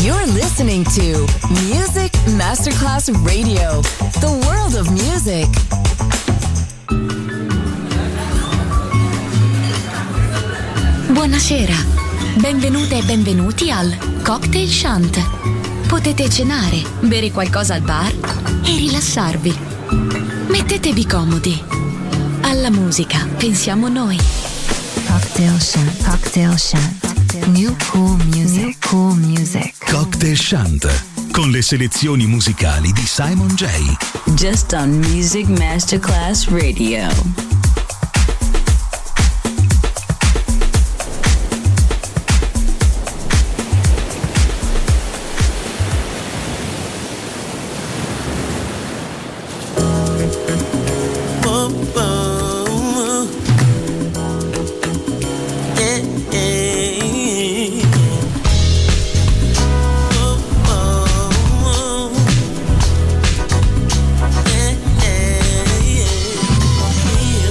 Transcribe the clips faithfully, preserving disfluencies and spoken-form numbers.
You're listening to Music Masterclass Radio, the world of music. Buonasera, benvenute e benvenuti al Cocktail Shant. Potete cenare, bere qualcosa al bar e rilassarvi. Mettetevi comodi. Alla musica pensiamo noi. Cocktail Shant, Cocktail Shant. New cool music, New cool music. Cocktail Shant, con le selezioni musicali di Simon J. Just on Music Masterclass Radio. Yeah.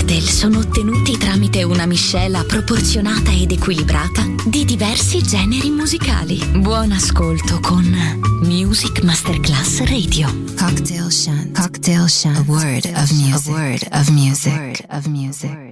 cocktail sono ottenuti tramite una miscela proporzionata ed equilibrata di diversi generi musicali. Buon ascolto con Music Masterclass Radio. Cocktail Shant. Cocktail Shant. A word of music. A word of music. A word of music.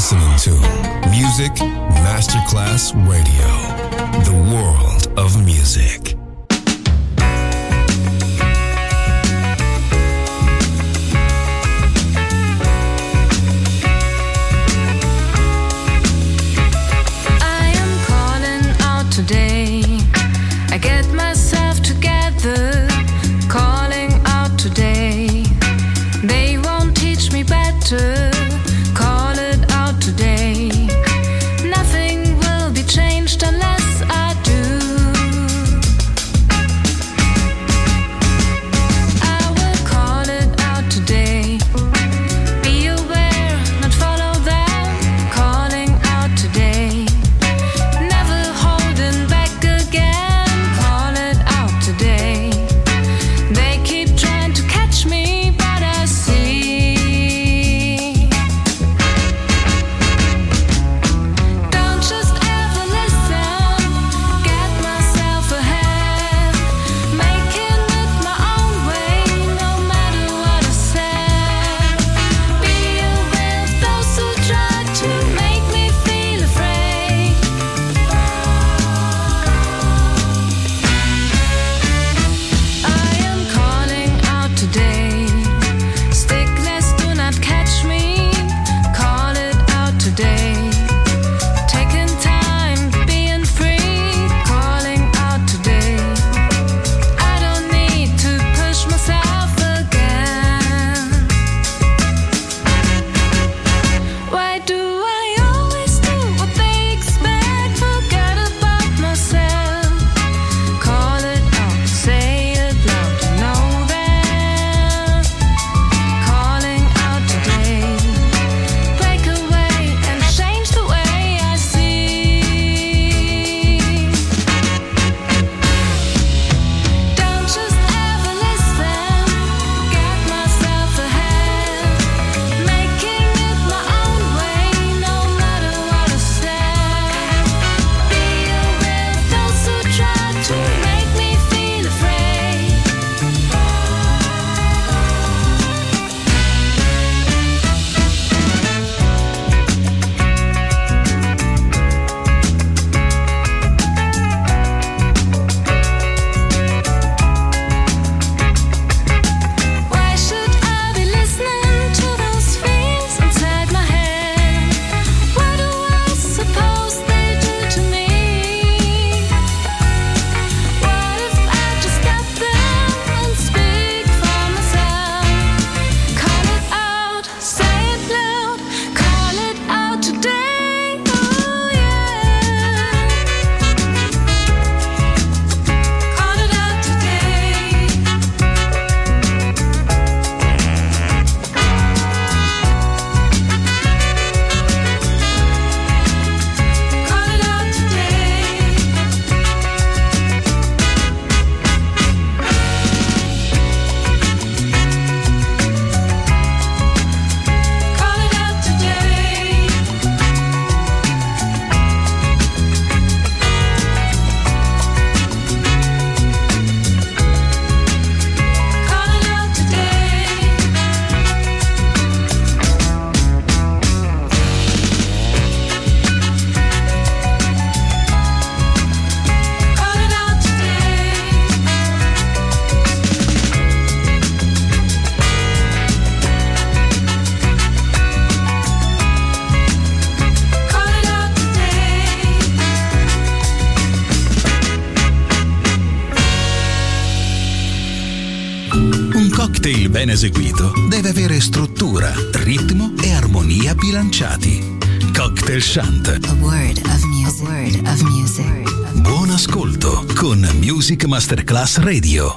listening to Music Masterclass Radio, the world of music. I am calling out today. I get myself together, calling out today. They won't teach me better. Call it out today. Nothing will be changed unless I do. I will call it out today. Be aware, not follow them. Calling out today. Never holding back again. Call it out today. They keep trying to catch me, but I see. Don't just ever listen, get myself ahead, making it my own way, no matter what I said. Be aware of those who try to make me feel afraid. I am calling out today. Stickless, do not catch me. Call it out today. Taking time, being free. Calling out today. I don't need to push myself again. Why do I always do what they expect? Forget about myself. Call it out, say it loud, know that. Calling out today. Break away and change the way I see. Don't just ever listen, get myself ahead, making it my own way, no matter what I said. Be aware of those who try to make me feel afraid. Why should I be listening to those fears inside my head? What do I suppose they do to me? What if I just stop them and speak for myself? Call it out, say it loud, call it out today. Oh yeah. Call it out today. Call it out today. Call it out today. Call it out today. Call it out today. Call it out today. Un cocktail ben eseguito deve avere struttura, ritmo e armonia bilanciati. Cocktail Shant. A word of music. A word of music. Buon ascolto con Music Masterclass Radio.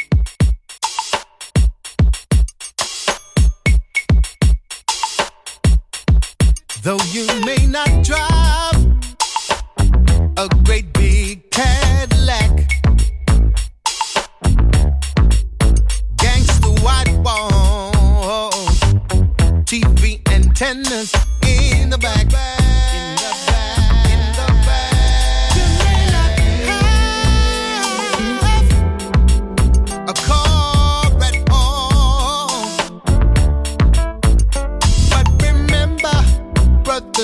Though you may not drive a great big Cadillac, gangster white walls, T V antennas in the back, in the back, in the back. You may not have a car at all, but remember, brother,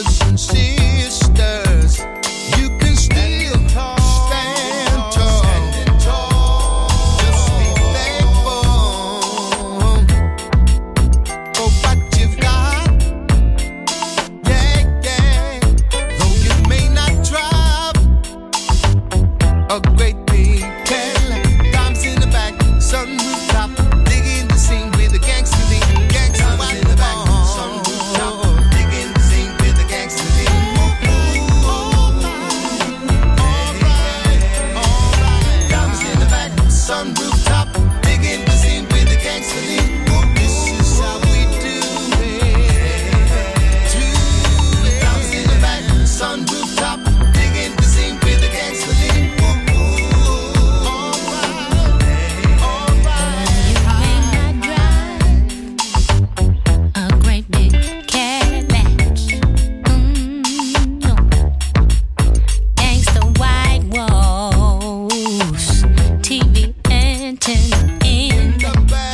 mansion in the back.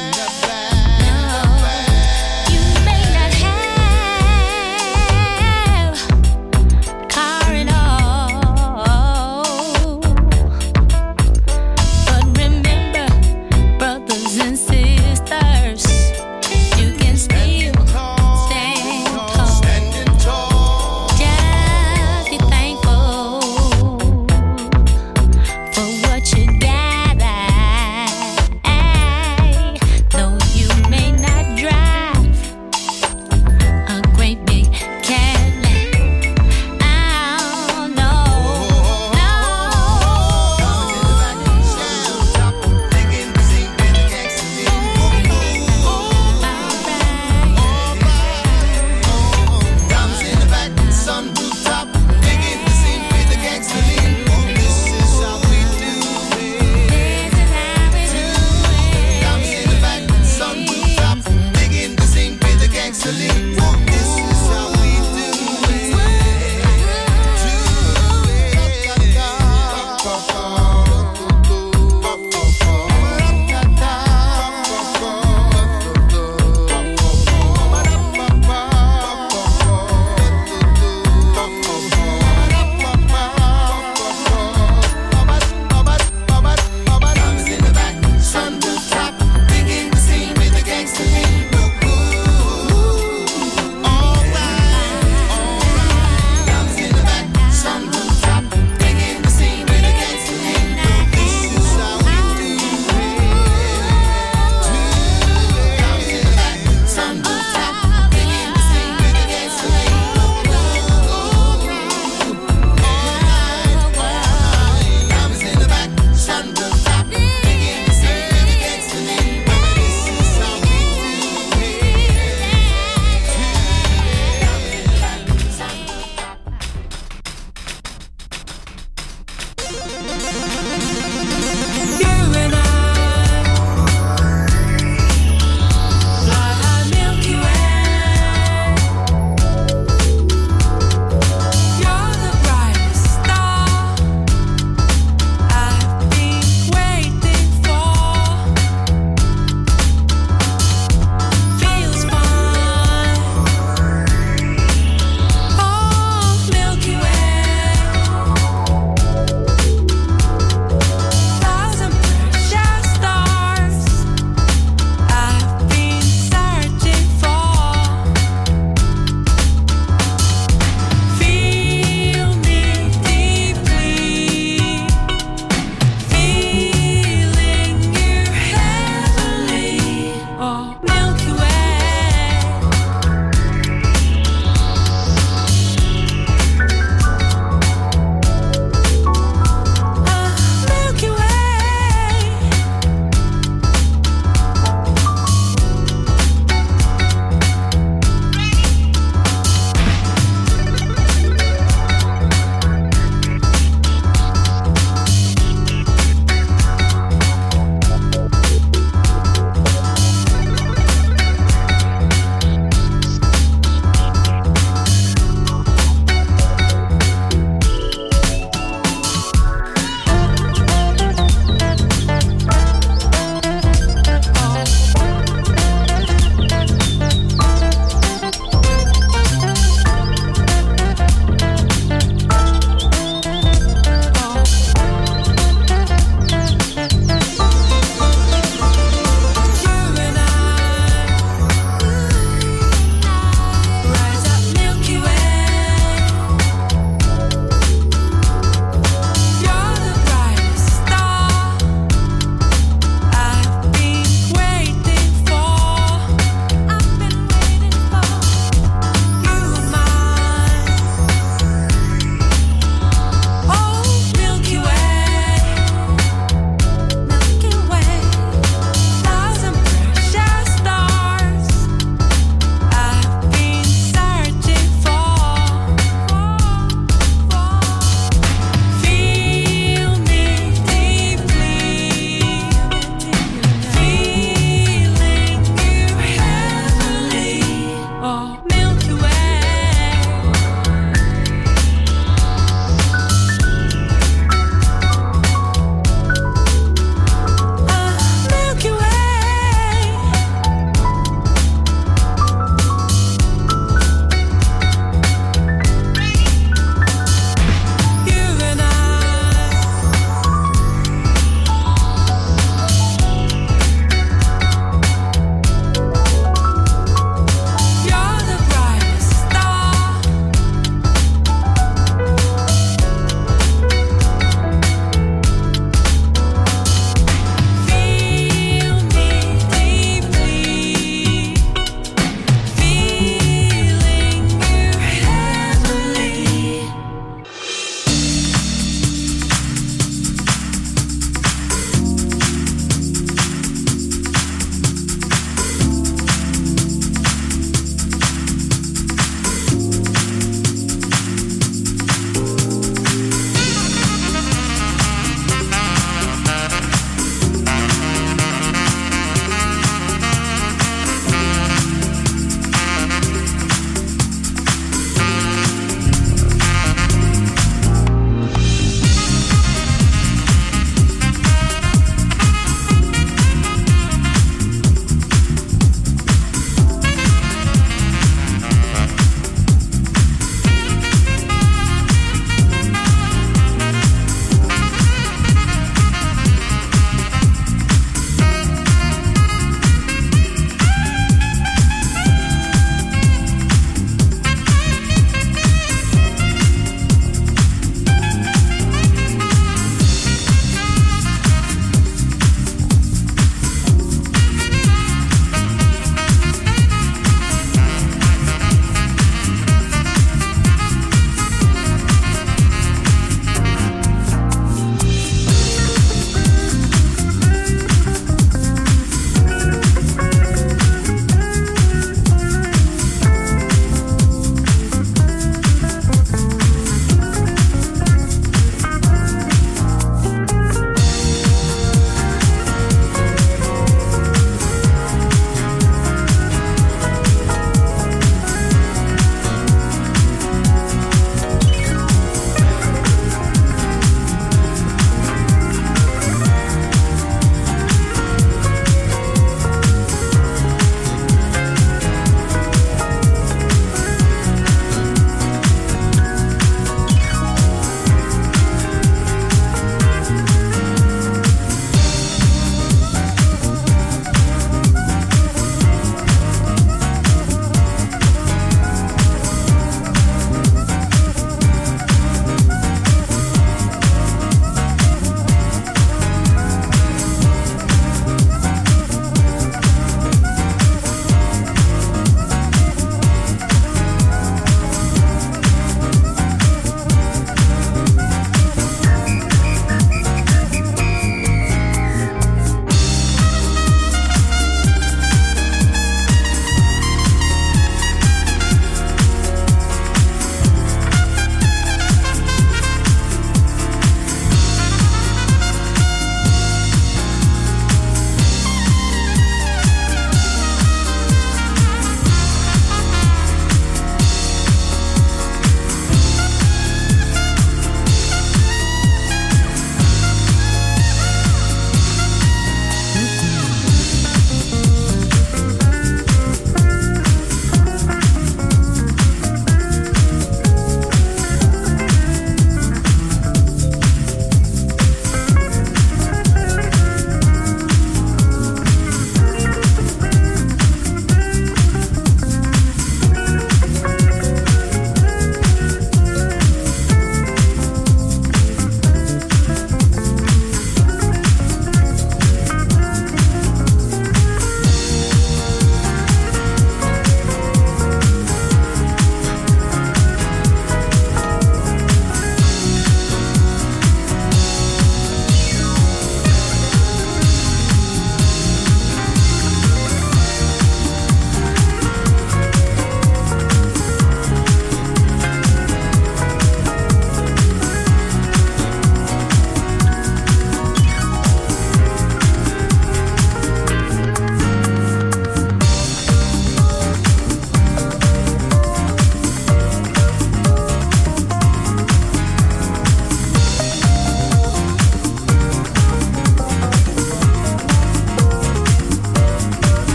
You may not have a car at all, but remember, brothers and sisters, you can still stand tall. Just be thankful for what you got.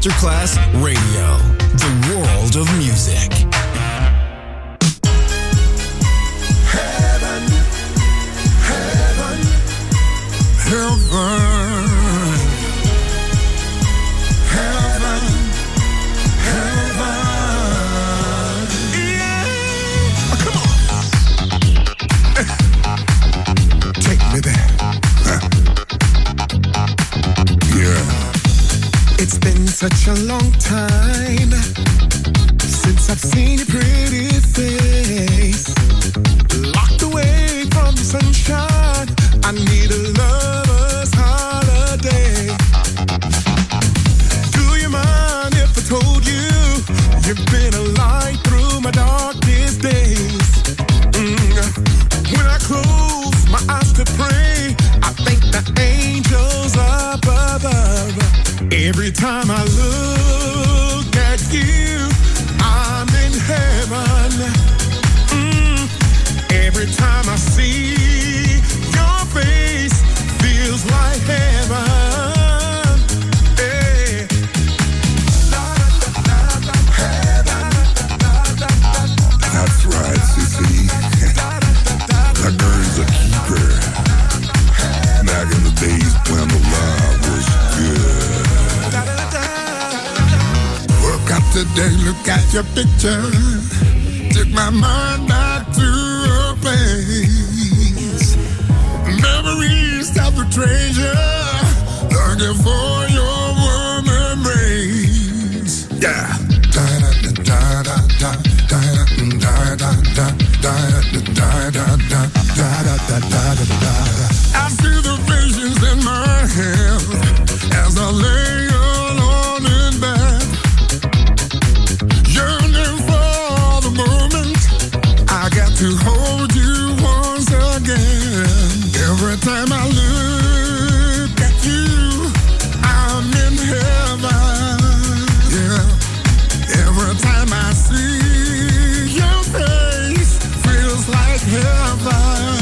Masterclass Radio, the world of music. Heaven, heaven, heaven. It's been such a long time since I've seen your pretty face. Locked away from the sunshine, I need a lover's holiday. Do you mind if I told you you've been a light through my darkest days? Mm. When I close my eyes to pray, I thank the angels up above. Every time I look at you, I'm in heaven. Mm. Every time I see your face, feels like heaven. Hey. That's right, Sissy. That girl's a keeper. Back in the days when the love was good. Woke up today, look at your picture. Took my mind back to a place. Memories of the treasure. Looking for your warm embrace. Yeah. Da da da da da da da da da da da da da da da. I see the visions in my head as I lay alone in bed, yearning for the moment I got to hold you once again. Every time I look at you, I'm in heaven. Yeah. Every time I see your face, feels like heaven.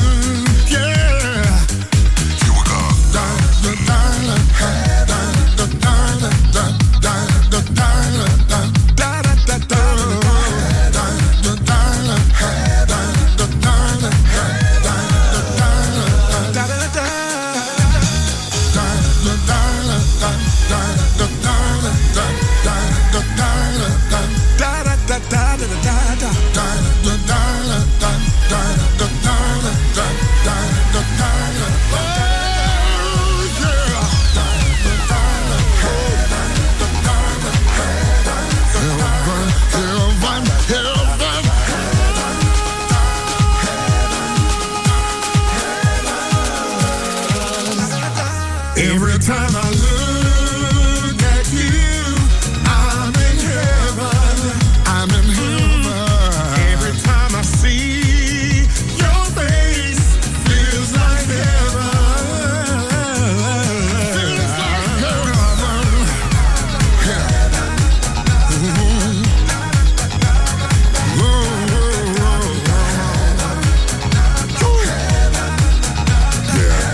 Every time I look at you, I'm in heaven. I'm in heaven. Every time I see your face, feels like heaven. Feels like heaven. Heaven. Mm-hmm. Whoa, whoa, whoa, whoa. Yeah.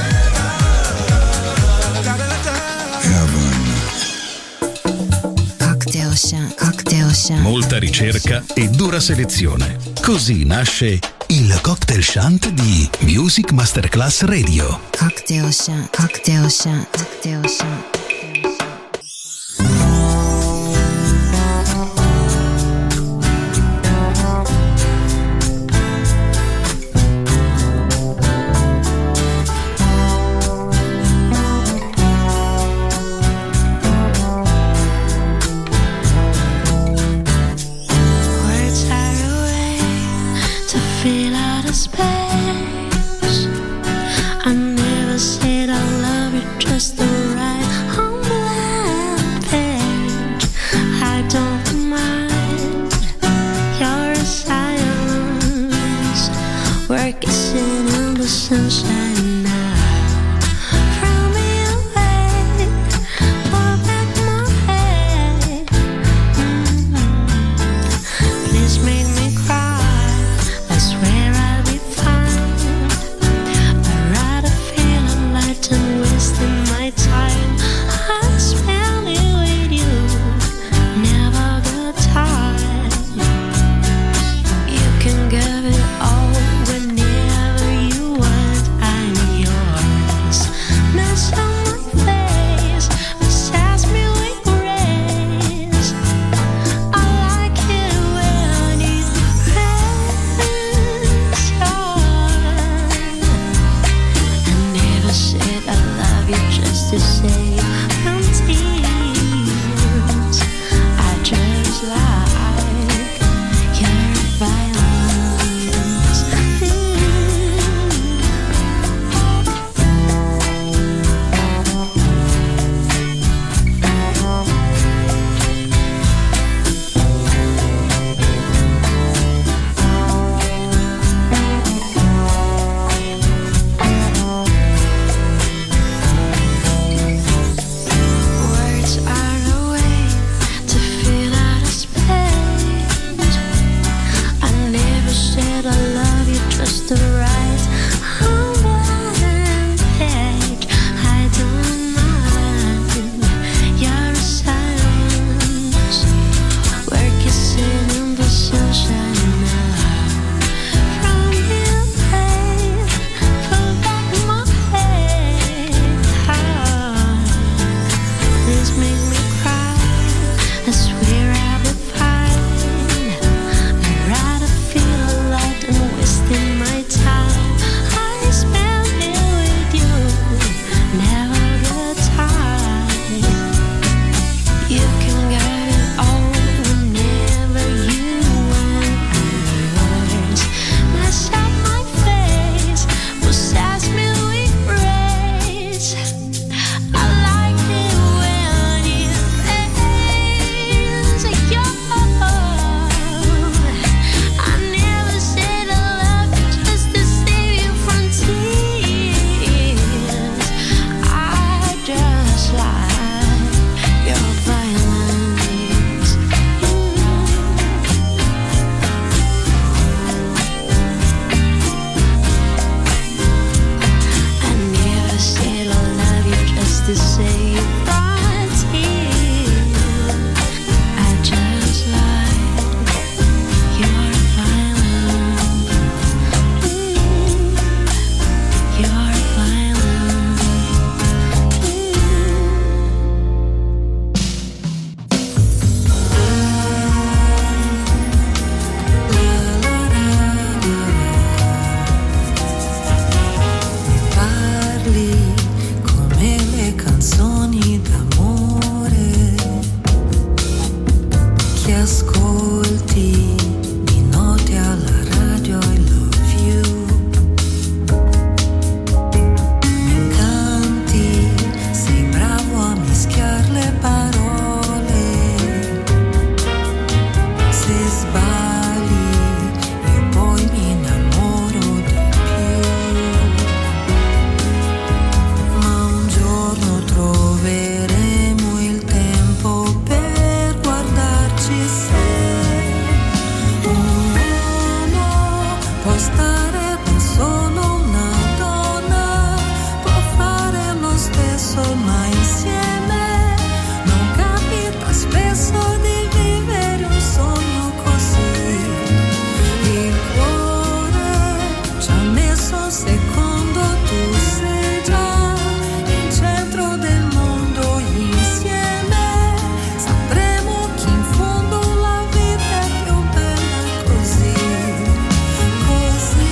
Molta ricerca e dura selezione. Così nasce il Cocktail Shant di Music Masterclass Radio. Cocktail Shant, Cocktail Shant, Cocktail Shant. Wasting my time, I'm spending with you. just the right unbuttoned page. I don't mind your silence. We're kissing in the sunshine now. From your face, pull back my head. Please make me cry. I swear I'll be fine. I'd rather feel alive than wasting my time. I spend it with you, never the time. You can get it all whenever you want yours. Mess up my face, possess me with grace. I like it when you praise your I never said I love you just to save you from tears. I just like your violence. I never said I love you just to save you from tears. I just like your violence. Your violence. Parli come le canzoni d'amore che ascolti di notte alla radio. I love you. Mi incanti, sei bravo a mischiare le parole. Se sbagli io poi mi innamoro di più. Ma un giorno troveremo il tempo per guardarci se un uomo può stare con solo una donna, può fare lo stesso ma insieme. Non capita spesso di vivere un sogno così. Il cuore ci ha messo un secondo, tu sei già il centro del mondo. Insieme sapremo che in fondo la vita è più bella così, così.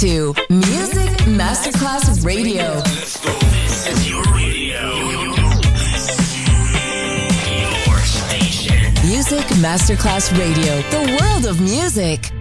to Music Masterclass Radio. Let's go. This is your radio. Your station. Music Masterclass Radio. The world of music.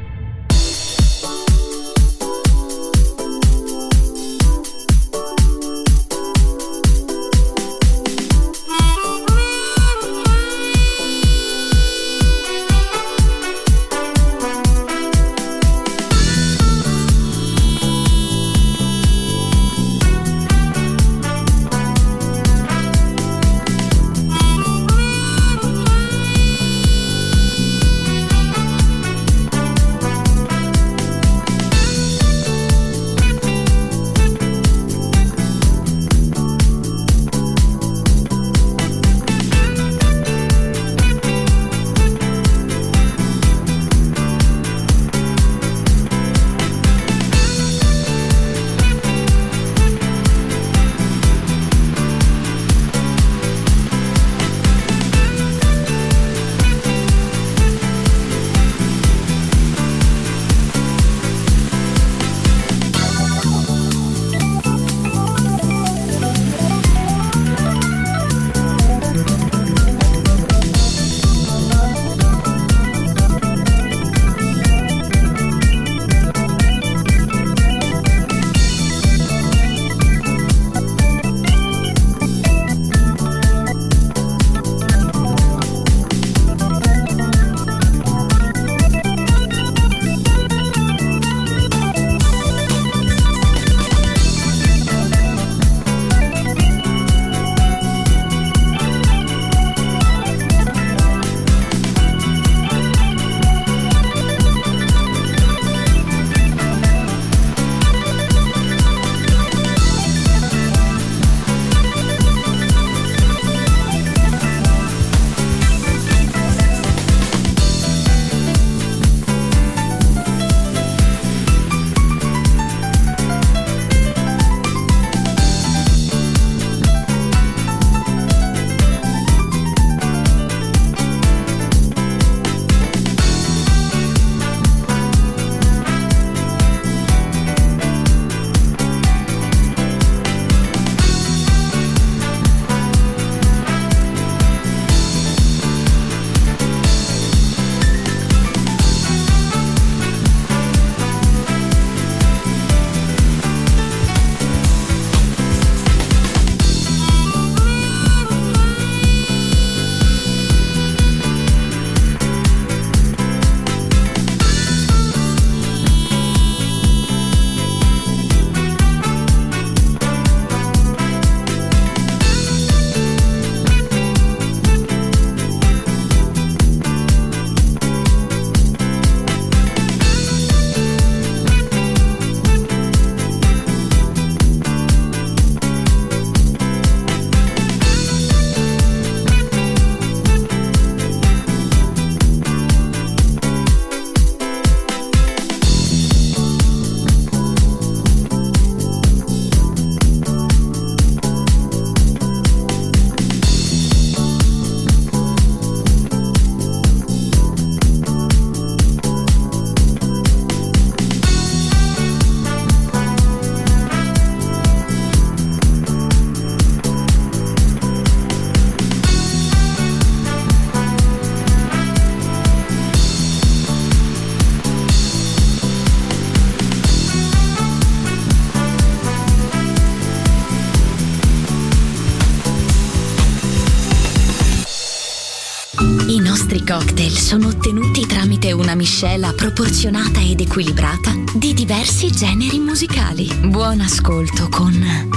I cocktail sono ottenuti tramite una miscela proporzionata ed equilibrata di diversi generi musicali. Buon ascolto con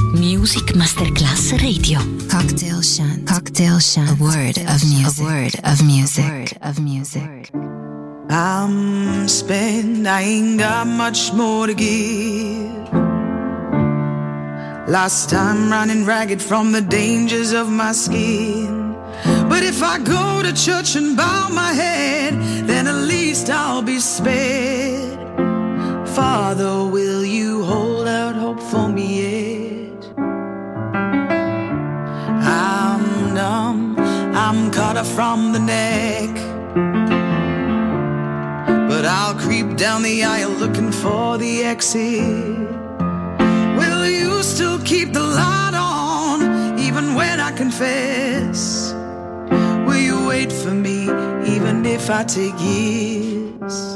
Music Masterclass Radio. Cocktail Shant. Cocktail Shant. A word of music. A word of music. A word of music. I'm spent, I ain't got much more to give. Last time running ragged from the dangers of my skin. But if I go to church and bow my head, then at least I'll be spared. Father, will you hold out hope for me yet? I'm numb, I'm cut off from the neck, but I'll creep down down the aisle looking for the exit. Will you still keep the light on even when I confess? Will you wait for me even if I take years?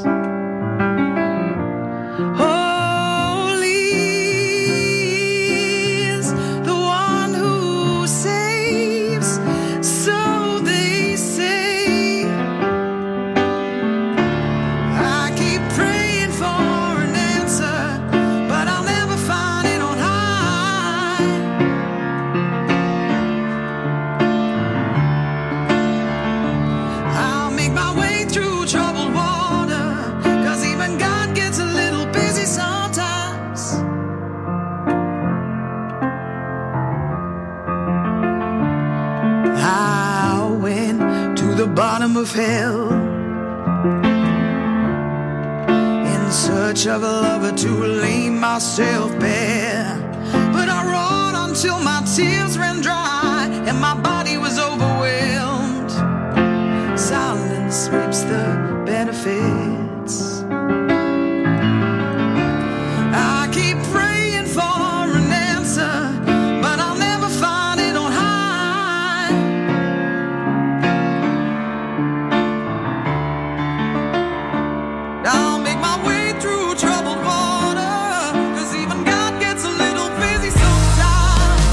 Bottom of hell in search of a lover to lay myself bare, but I wrote until my tears ran dry and my body was overwhelmed. Silence reaps the benefits. I keep praying for an answer, but I'll never find it on high. I'll make my way through troubled water, 'cause even God gets a little busy sometimes.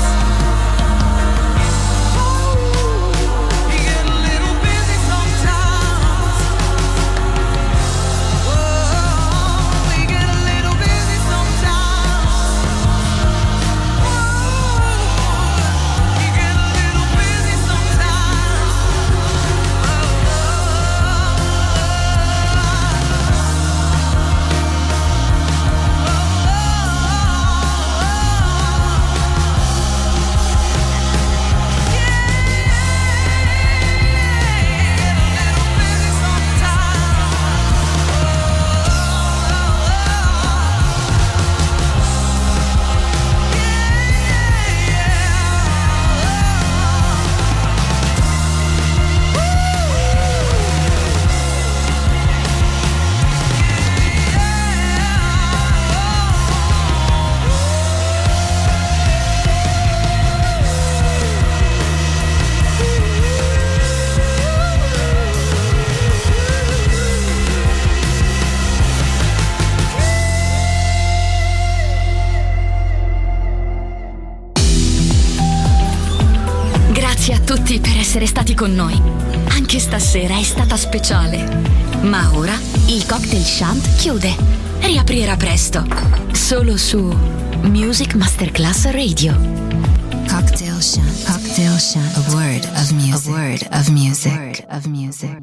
Oh, he gets a little busy sometimes. Oh, he gets a little busy sometimes. Oh, he gets a little busy sometimes. Grazie a tutti per essere stati con noi. Anche stasera è stata speciale. Ma ora il Cocktail Shant chiude. Riaprirà presto. Solo su Music Masterclass Radio. Cocktail Shant. Cocktail Shant. A word of music. A word of music. A word of music.